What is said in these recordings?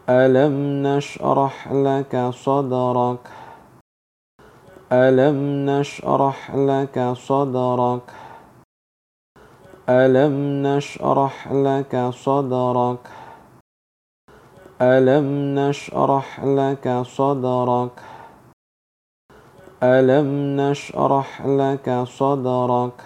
ألم نشرح لك صدرك ألم نشرح لك صدرك ألم نشرح لك صدرك ألم نشرح لك صدرك ألم نشرح لك صدرك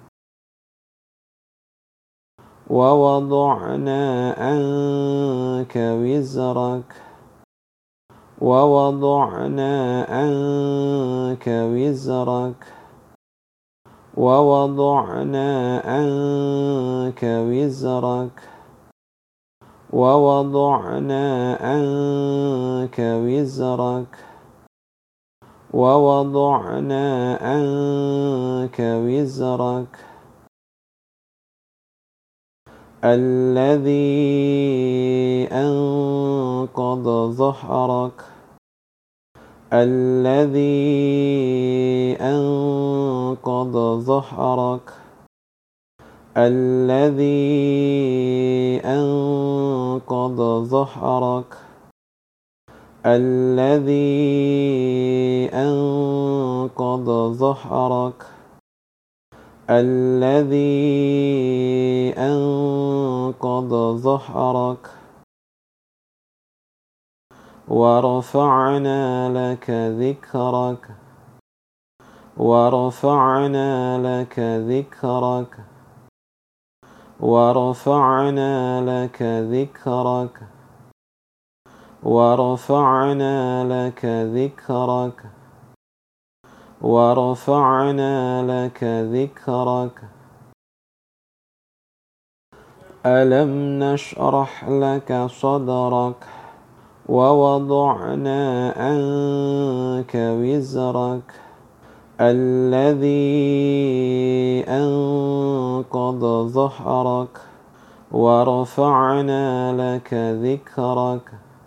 ووضعنا عنك وزرك ووضعنا عنك وزرك ووضعنا عنك وزرك ووضعنا عنك وزرك ووضعنا عنك وزرك الذي أنقض ظهرك الذي أنقض ظهرك الذي أنقض ظهرك الذي أنقض ظهرك الذي أنقض ظهرك ورفعنا لك ذكرك ورفعنا لك ذكرك ورفعنا لك ذكرك ورفعنا لك ذكرك ورفعنا لك ذكرك ألم نشرح لك صدرك ووضعنا عنك وزرك الذي أنقض ظهرك ورفعنا لك ذكرك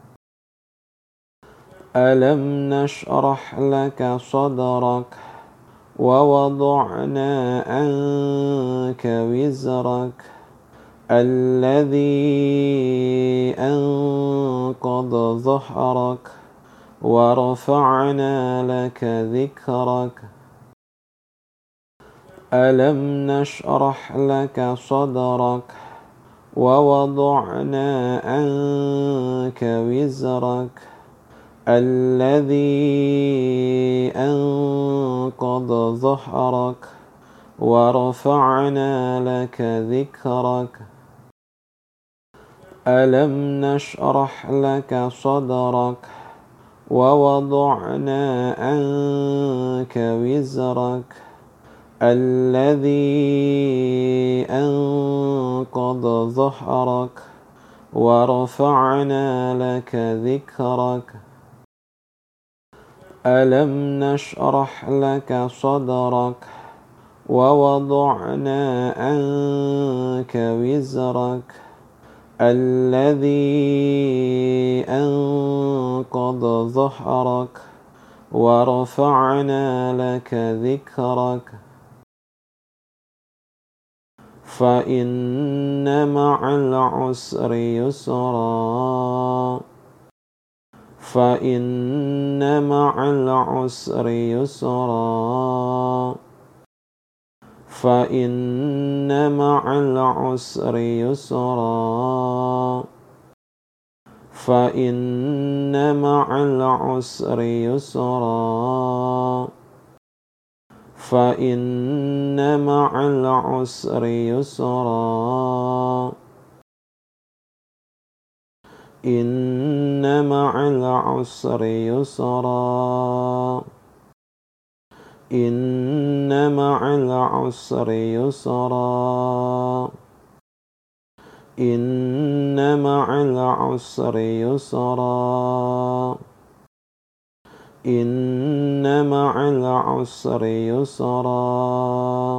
ألم نشرح لك صدرك ووضعنا عنك وزرك الذي أنقض ظهرك ورفعنا لك ذكرك ألم نشرح لك صدرك ووضعنا عنك وزرك الذي أنقض ظهرك ورفعنا لك ذكرك ألم نشرح لك صدرك ووضعنا عنك وزرك الذي أنقض ظهرك ورفعنا لك ذكرك ألم نشرح لك صدرك ووضعنا عنك وزرك الذي أنقض ظهرك ورفعنا لك ذكرك فإن مع العسر يسرا فإن مع العسر يسرا فإن مع العسر يسرا فإن مع العسر يسرا فإن مع العسر يسرا إن مع العسر يسرا إن مع العسر يسرا إن مع العسر يسرا إن مع العسر يسرا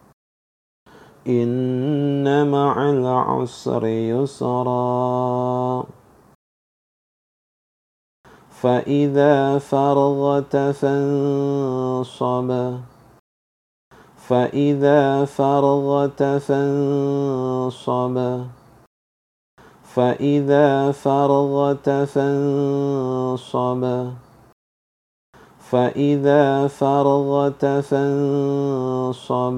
إن مع العسر يسرا فإذا فرغت فانصب فإذا فرغت فانصب فإذا فرغت فانصب فإذا فرغت فانصب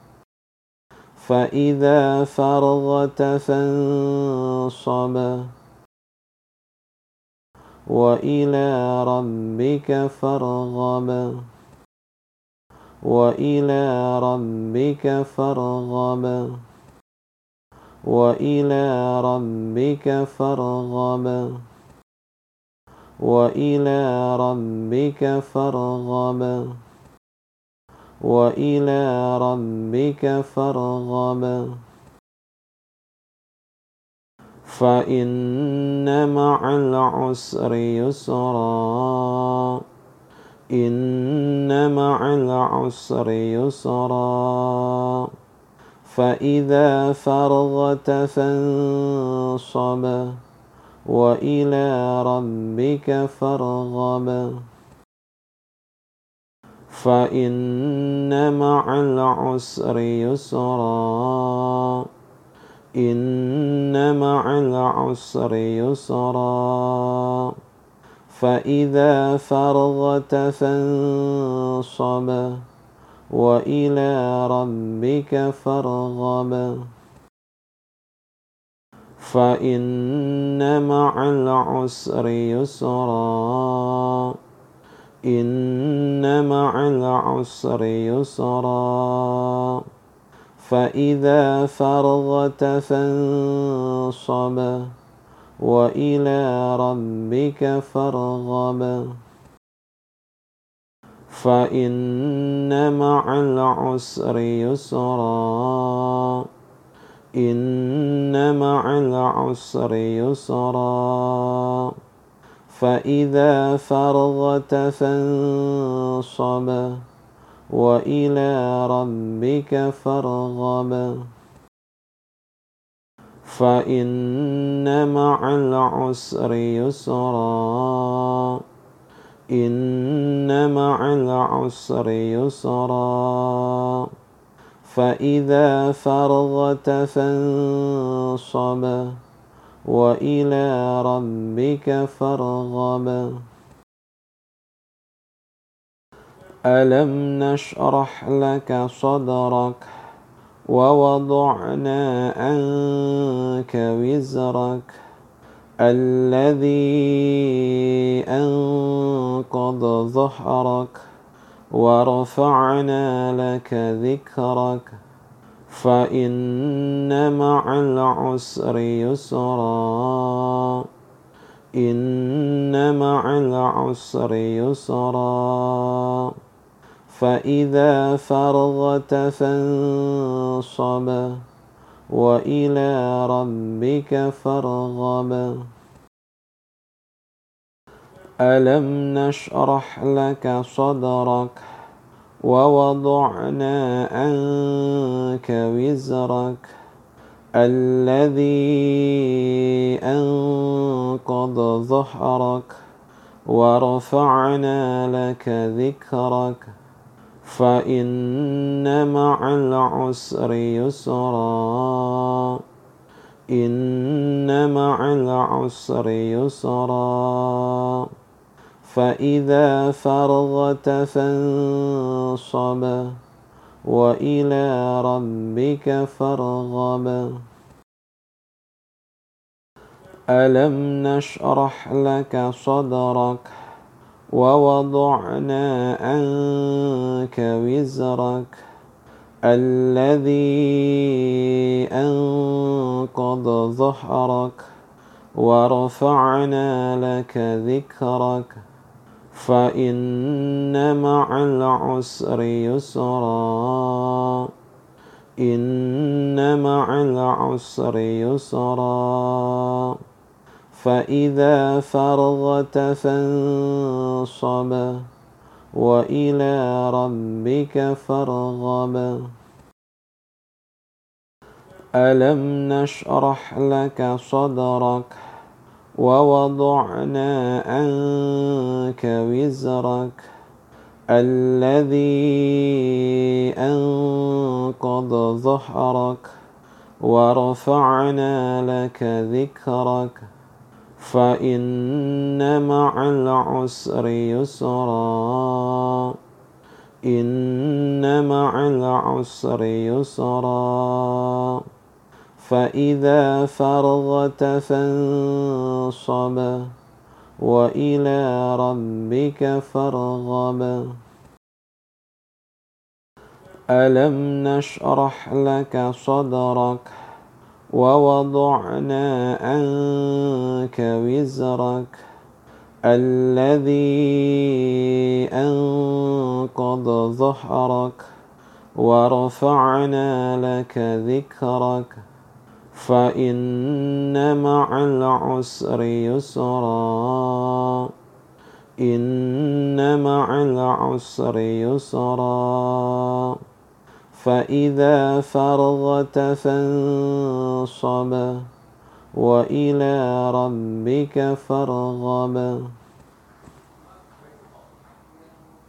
فإذا فرغت فانصب وإلى ربك فارغب وإلى ربك فارغب وإلى ربك فارغب وإلى ربك فارغب وإلى ربك فارغب فإن مع العسر يسرا إن مع العسر يسرا فإذا فرغت فانصب وإلى ربك فارغب فإن مع العسر يسرا إن مع العسر يسرا فإذا فرغت فانصب وإلى ربك فارغب فإن مع العسر يسرا إن مع العسر يسرا فإذا فرغت فانصب وإلى ربك فارغب فإن مع العسر يسرا إن مع العسر يسرا فإذا فرغت فانصب وإلى ربك فارغب فإن مع العسر يسرا إن مع العسر يسرا فإذا فرغت فانصب وإلى ربك فارغب ألم نشرح لك صدرك ووضعنا عنك وزرك الذي أنقض ظهرك ورفعنا لك ذكرك فإن مع العسر يسرا إن مع العسر يسرا فإذا فرغت فانصب وإلى ربك فارغب ألم نشرح لك صدرك ووضعنا عنك وزرك الذي أنقض ظهرك ورفعنا لك ذكرك فإن مع العسر يسرا إن مع العسر يسرا فإذا فرغت فانصب وإلى ربك فارغب ألم نشرح لك صدرك ووضعنا عنك وزرك الذي أنقض ظهرك ورفعنا لك ذكرك فإن مع العسر يسرا إن مع العسر يسرا فإذا فرغت فانصب وإلى ربك فارغب ألم نشرح لك صدرك ووضعنا عنك وزرك الذي أنقض ظهرك ورفعنا لك ذكرك فإن مع العسر يسرا إن مع العسر يسرا فإذا فرغت فانصب وإلى ربك فارغب ألم نشرح لك صدرك ووضعنا عنك وزرك الذي أنقض ظهرك ورفعنا لك ذكرك فإن مع العسر يسرا إن مع العسر يسرا فإذا فرغت فانصب وإلى ربك فارغب